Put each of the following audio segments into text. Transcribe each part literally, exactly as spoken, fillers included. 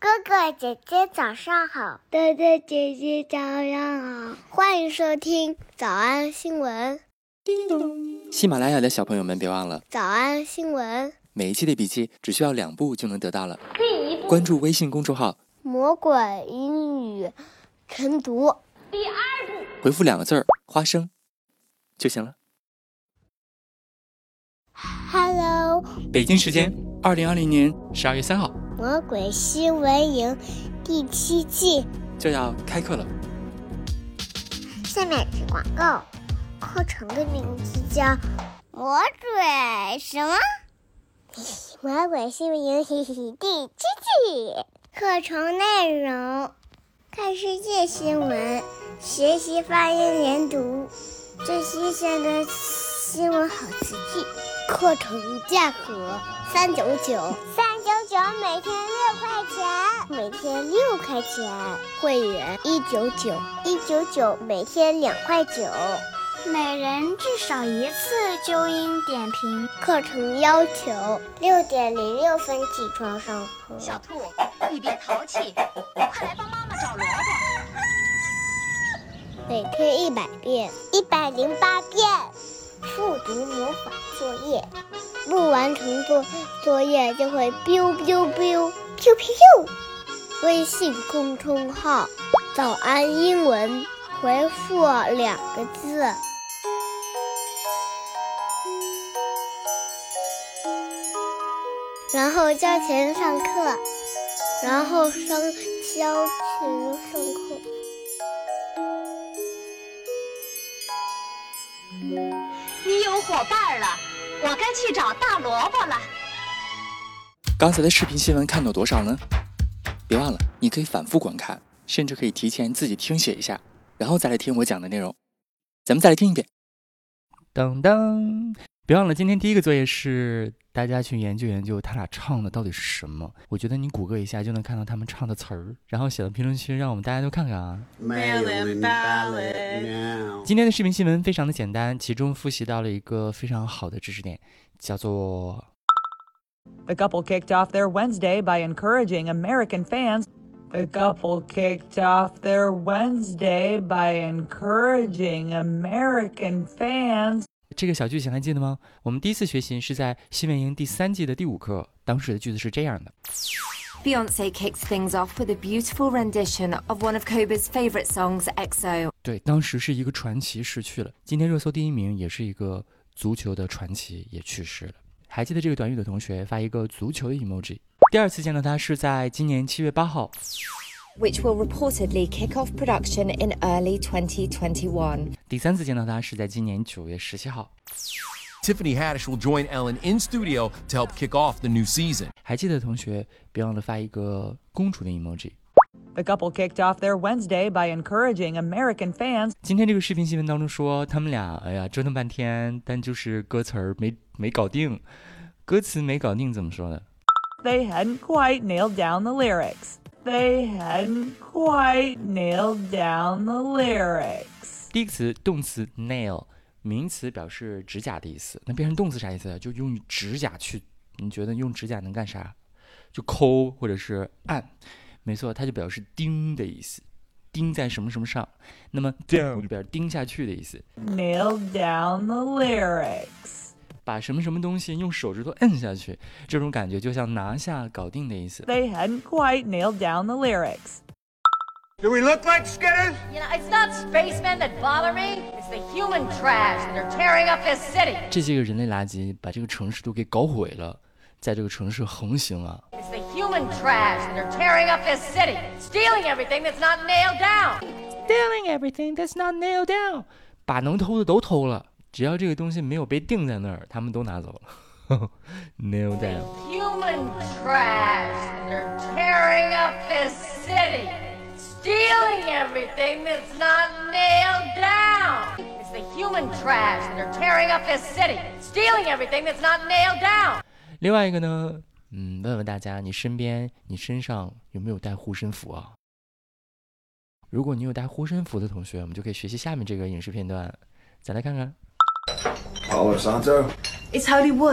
哥哥姐姐早上好， 哥哥姐姐早上好， 欢迎收听早安新闻。 叮咚！喜马拉雅的小朋友们别忘了早安新闻， 每一期的笔记只需要两步就能得到了。第一步，关注微信公众号魔鬼英语晨读。 第二步， 回复两个字儿花生就行了。 Hello， 北京时间二零二零年十二月三号， 魔鬼新闻营第七季就要开课了。 下面是广告，课程的名字叫魔鬼什么？魔鬼新闻营第七季，课程内容：看世界新闻，学习发音连读，最新鲜的新闻好词句。课程价格三九九，三九九每天六块钱，每天六块钱。会员一九九，一九九每天两块九，每人至少一次纠音点评。课程要求六点零六分起床上课。 小兔，你别淘气，快来帮妈妈找萝卜。 每天一百遍，一百零八遍。复读魔法作业，不完成作作业就会 biu biu biu biu biu。微信公众号早安英文，回复两个字，然后交钱上课，然后上交钱上课。 你有伙伴了，我该去找大萝卜了。 刚才的视频新闻看到多少呢？别忘了，你可以反复观看，甚至可以提前自己听写一下，然后再来听我讲的内容。咱们再来听一遍。噔噔！别忘了，今天第一个作业是大家去研究研究他俩唱的到底是什么。我觉得你谷歌一下就能看到他们唱的词儿，然后写到评论区，让我们大家都看看啊。今天的视频新闻非常的简单，其中复习到了一个非常好的知识点，叫做 The couple kicked off their Wednesday by encouraging American fans. The couple kicked off their Wednesday by encouraging American fans. 这个小句型还记得吗？我们第一次学习是在新闻营第三季的第五课，当时的句子是这样的。 Beyonce kicks things off with a beautiful rendition of one of Kobe's favorite songs, X O. 对，当时是一个传奇逝去了。今天热搜第一名也是一个足球的传奇，也去世了。还记得这个短语的同学发一个足球的 emoji。第二次见到他是在今年七月八号。 Which will reportedly kick off production in early twenty twenty-one. 第三次见到他是在今年九月十七号。 Tiffany Haddish will join Ellen in studio to help kick off the new season. 还记得的同学别忘了发一个公主的 emoji。 The couple kicked off their Wednesday by encouraging American fans. 今天这个视频新闻当中说他们俩哎呀折腾半天，但就是歌词儿没没搞定。歌词没搞定怎么说呢？ They hadn't quite nailed down the lyrics. They hadn't quite nailed down the lyrics. 第一个词动词 nail， 名词表示指甲的意思，那变成动词啥意思？就用指甲去，你觉得用指甲能干啥？就抠或者是按。没错，它就表示钉的意思，钉在什么什么上。那么 down 就表示钉下去的意思。 Nailed down the lyrics. 把什么什么东西用手指头摁下去，这种感觉就像拿下搞定的意思。 They hadn't quite nailed down the lyrics. Do we look like skitters? You know, it's not spacemen that bother me. It's the human trash that are tearing up this city. 这些个人类垃圾把这个城市都给搞毁了，在这个城市横行啊。 It's the human trash that are tearing up this city, stealing everything that's not nailed down. Stealing everything that's not nailed down. 把能偷的都偷了，只要这个东西没有被定在那儿，他们都拿走了。Nail down. Human trash that are tearing up this city, stealing everything that's not nailed down. It's the human trash that are tearing up this city, stealing everything that's not nailed down. 另外一个呢，嗯，问问大家，你身边、你身上有没有带护身符啊？如果你有带护身符的同学，我们就可以学习下面这个影视片段。再来看看。 Palo Santo. It's Holy Wood.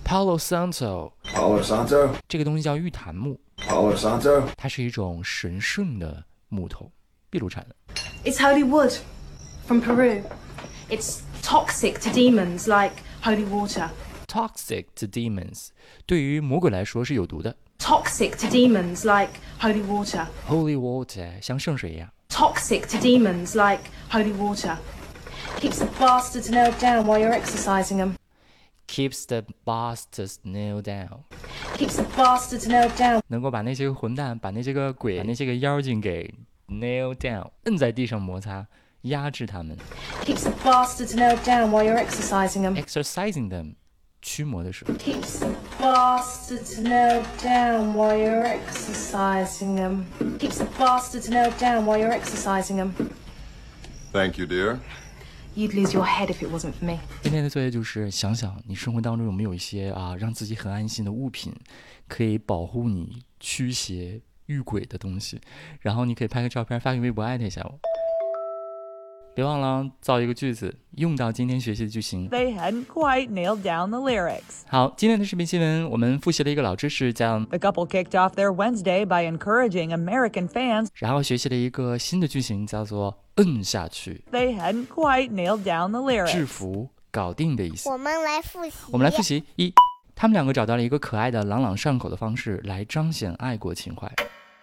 Palo Santo， Palo Santo. 这个东西叫玉檀木， Palo Santo. 它是一种神圣的木头，秘鲁产的。 It's holy wood from Peru. It's toxic to demons like holy water. Toxic to demons， 对于魔鬼来说是有毒的。 Toxic to demons like holy water. Holy water， 像圣水一样。 Toxic to demons like holy water. Keeps the bastards nailed down while you're exercising them. Keeps the bastards nailed down， Keeps the bastards nailed down. 能够把那些个混蛋，把那些个鬼，把那些个妖精给 nail down， 摁在地上摩擦，压制他们。 Keeps the bastards nailed down while you're exercising them. Exercising them， 驱魔的时候。 Keeps the bastards nailed down while you're exercising them. Keeps the bastards nailed down while you're exercising them. Thank you, dear. You'd lose your head if it wasn't for me. 今天的作业就是想想你生活当中有没有一些啊让自己很安心的物品，可以保护你驱邪御鬼的东西，然后你可以拍个照片发给微博艾特一下我。别忘了造一个句子用到今天学习的句型。 They hadn't quite nailed down the lyrics. 好，今天的视频新闻我们复习了一个老知识，叫 The couple kicked off their Wednesday by encouraging American fans. 然后学习了一个新的句型，叫做摁下去， They hadn't quite nailed down the 制 lyrics. 服搞定的意思。 我们来复习。 我们来复习一，他们两个找到了一个可爱的朗朗上口的方式来彰显爱国情怀。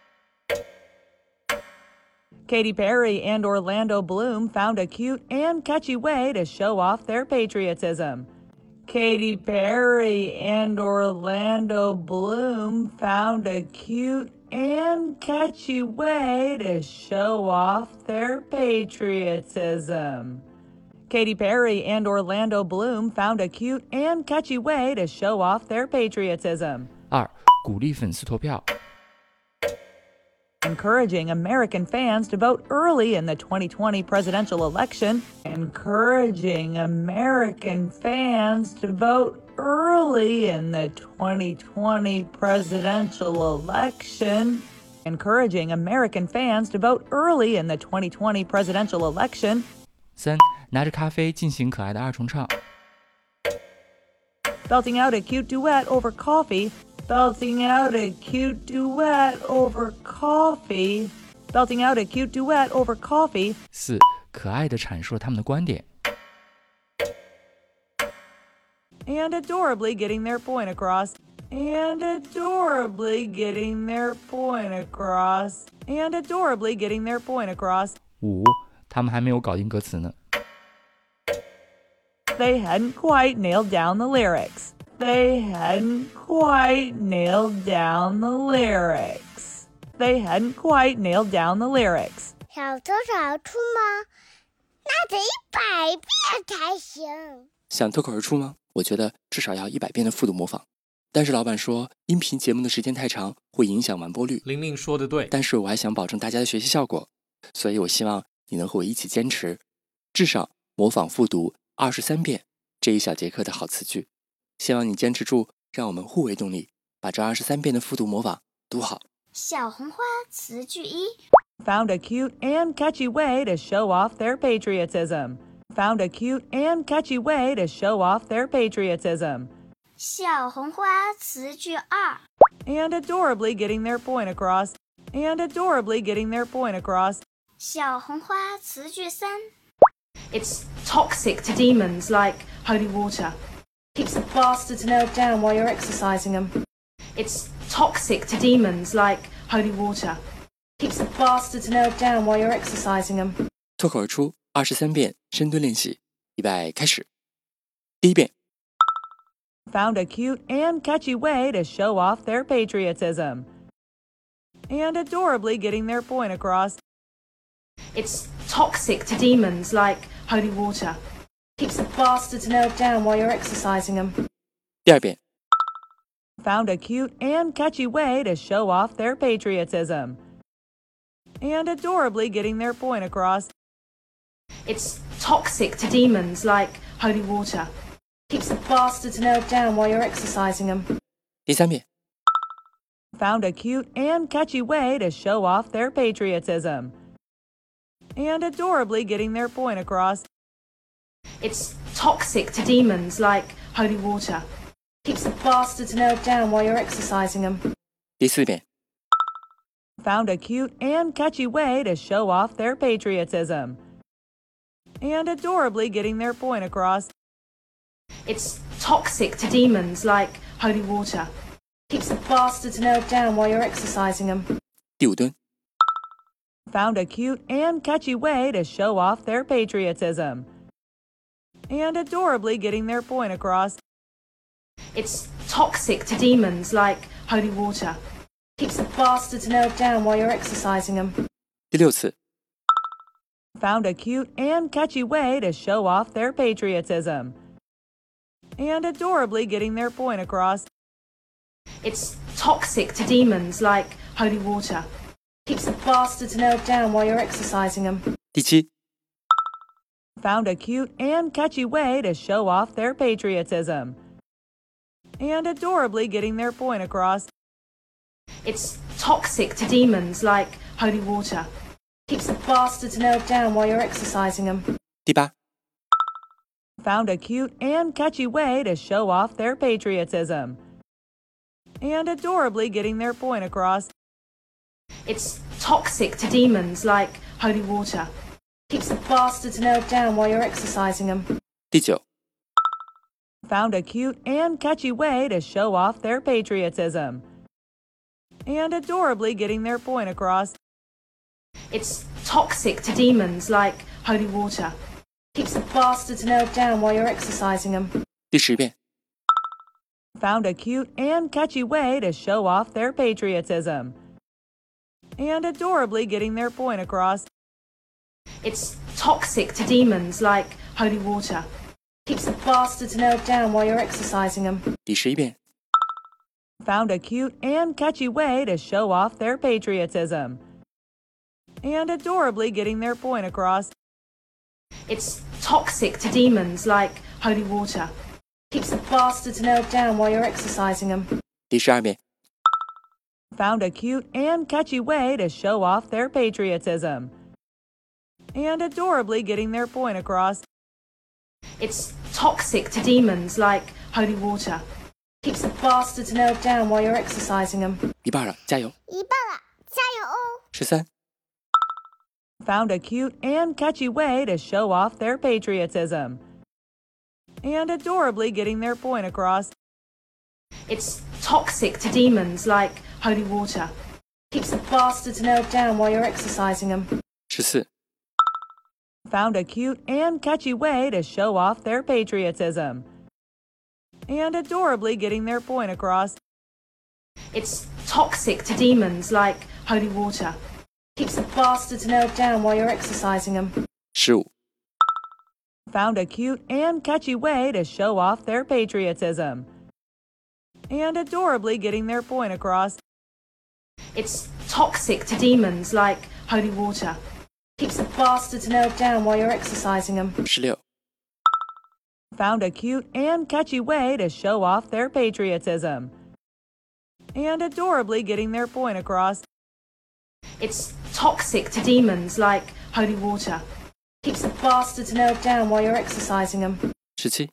Katy Perry and Orlando Bloom found a cute and catchy way to show off their patriotism. Katy Perry and Orlando Bloom found a cute and catchy way to show off their patriotism. Katy Perry and Orlando Bloom found a cute and catchy way to show off their patriotism. 二，鼓励粉丝投票。 Encouraging American fans to vote early in the twenty twenty presidential election. Encouraging American fans to vote early in the twenty twenty presidential election. Encouraging American fans to vote early in the twenty twenty presidential election. 三，拿着咖啡进行可爱的二重唱。 Belting out a cute duet over coffee. Belting out a cute duet over coffee. Belting out a cute duet over coffee. 四，可爱的阐述了他们的观点。 And adorably getting their point across. And adorably getting their point across. And adorably getting their point across. 五，他们还没有搞定歌词呢。 They hadn't quite nailed down the lyrics. They hadn't quite nailed down the lyrics. They hadn't quite nailed down the lyrics. 小偷找出吗？那得一百遍才行。 想脱口而出吗？我觉得至少要一百遍的复读模仿。但是老板说，音频节目的时间太长，会影响完播率。 玲玲说的对， 但是我还想保证大家的学习效果，所以我希望你能和我一起坚持，至少模仿复读二十三遍这一小节课的好词句。希望你坚持住，让我们互为动力，把这二十三遍的复读模仿读好。 小红花词句一 Found a cute and catchy way to show off their patriotism. Found a cute and catchy way to show off their patriotism. 小红花词句二 And adorably getting their point across. And adorably getting their point across. 小红花词句三 It's toxic to demons like holy water. Keeps the bastards nailed down while you're exercising them. It's toxic to demons like holy water. Keeps the bastards nailed down while you're exercising them. 脱口而出二十三遍深蹲练习，预备开始。第一遍。 Found a cute and catchy way to show off their patriotism. And adorably getting their point across. It's toxic to demons like holy water. Keeps the bastards nailed down while you're exercising them. 第二遍。 Found a cute and catchy way to show off their patriotism. And adorably getting their point across. It's toxic to demons like holy water. Keeps the bastards nailed down while you're exercising them. 第三遍。 Found a cute and catchy way to show off their patriotism. And adorably getting their point across. It's toxic to demons like holy water. Keeps the bastards nailed down while you're exercising them. 第四遍。 Found a cute and catchy way to show off their patriotism. And adorably getting their point across. It's toxic to demons like holy water. Keeps the bastards nailed down while you're exercising them. 第五蹲。 Found a cute and catchy way to show off their patriotism. And adorably getting their point across. It's toxic to demons like holy water. Keeps the bastards nailed down while you're exercising them. 第六次。 Found a cute and catchy way to show off their patriotism. And adorably getting their point across. It's toxic to demons like holy water. Keeps the bastards nailed down while you're exercising them. 第七。 Found a cute and catchy way to show off their patriotism. And adorably getting their point across. It's toxic to demons like holy water. Keeps the bastards nailed down while you're exercising them. 第八。 Found a cute and catchy way to show off their patriotism. And adorably getting their point across. It's toxic to demons like holy water. Keeps the bastards nailed down while you're exercising them. 第九。 Found a cute and catchy way to show off their patriotism. And adorably getting their point across. It's toxic to demons like holy water. Keeps the bastards nailed down while you're exercising them. 第十遍。 Found a cute and catchy way to show off their patriotism. And adorably getting their point across. It's toxic to demons like holy water. Keeps the bastards nailed down while you're exercising them. 第十一遍。 Found a cute and catchy way to show off their patriotism. And adorably getting their point across. It's toxic to demons like holy water. Keeps the bastards nailed down while you're exercising them. 第十二遍。 Found a cute and catchy way to show off their patriotism. And adorably getting their point across. It's toxic to demons like holy water. Keeps the bastards nailed down while you're exercising them. 一半了，加油！ 一半了，加油哦！ 十三。 Found a cute and catchy way to show off their patriotism. And adorably getting their point across. It's toxic to demons like holy water. Keeps the bastards nailed down while you're exercising them. 十四。 Found a cute and catchy way to show off their patriotism. And adorably getting their point across. It's toxic to demons like holy water. Keeps the bastards nailed down while you're exercising them. 十五。 Found a cute and catchy way to show off their patriotism. And adorably getting their point across. It's toxic to demons like holy water. Keeps the bastards nailed down while you're exercising them. 十六。 Found a cute and catchy way to show off their patriotism. And adorably getting their point across. It's toxic to demons like holy water. Keeps the bastards nailed down while you're exercising them. 十七。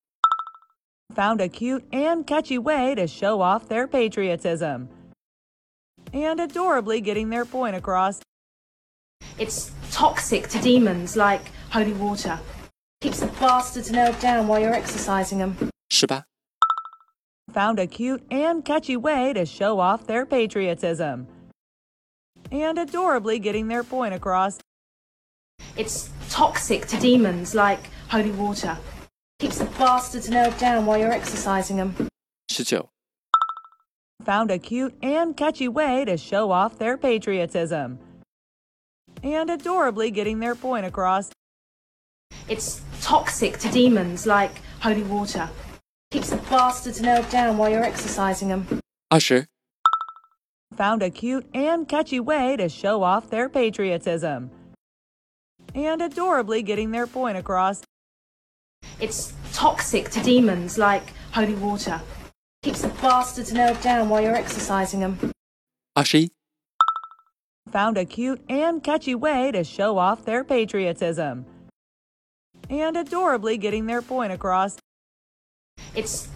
Found a cute and catchy way to show off their patriotism. And adorably getting their point across. It's toxic to demons like holy water. Keeps the bastards nailed down while you're exercising them. 十八。 Found a cute and catchy way to show off their patriotism. And adorably getting their point across. It's toxic to demons like holy water. Keeps the bastards nailed down while you're exercising them. 十九。 Found a cute and catchy way to show off their patriotism. And adorably getting their point across. It's toxic to demons like holy water. Keeps the bastards nailed down while you're exercising them. 二十。 Found a cute and catchy way to show off their patriotism. And adorably getting their point across. It's toxic to demons like holy water. Keeps the bastards nailed down while you're exercising them. 二十一。 Found a cute and catchy way to show off their patriotism. And adorably getting their point across. It's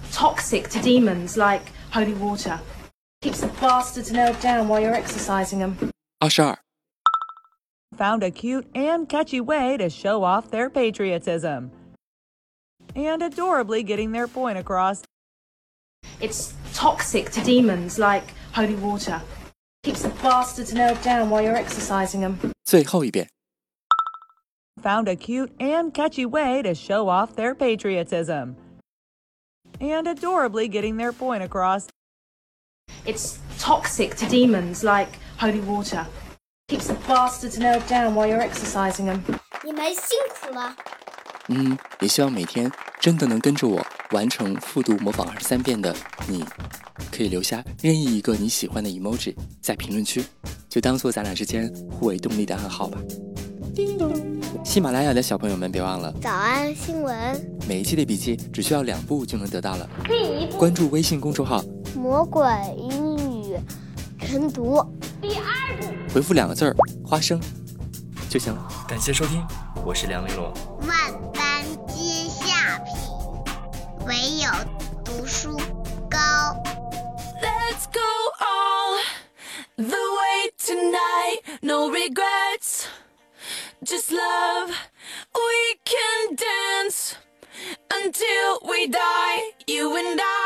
toxic to demons like holy water. Keeps the bastards nailed down while you're exercising them. 二十二 Found a cute and catchy way to show off their patriotism. And adorably getting their point across. It's toxic to demons like holy water. Keeps the bastards nailed down while you're exercising them. 最后一遍 Found a cute and catchy way to show off their patriotism. And adorably getting their point across. It's toxic to demons like holy water. Keeps the bastards nailed down while you're exercising them. 你们辛苦了。 嗯，也希望每天真的能跟着我完成复读模仿二十三遍的你，可以留下任意一个你喜欢的 emoji 在评论区，就当做咱俩之间互为动力的暗号吧。叮咚！喜马拉雅的小朋友们别忘了早安新闻， 每一期的笔记只需要两步就能得到了。关注微信公众号魔鬼英语晨读。第二步， 回复两个字儿花生就行了。感谢收听，我是梁玲珑。 万般皆下品，唯有读书高。 Let's go all the way tonight, no regrets, just love. We can dance until we die, you and I.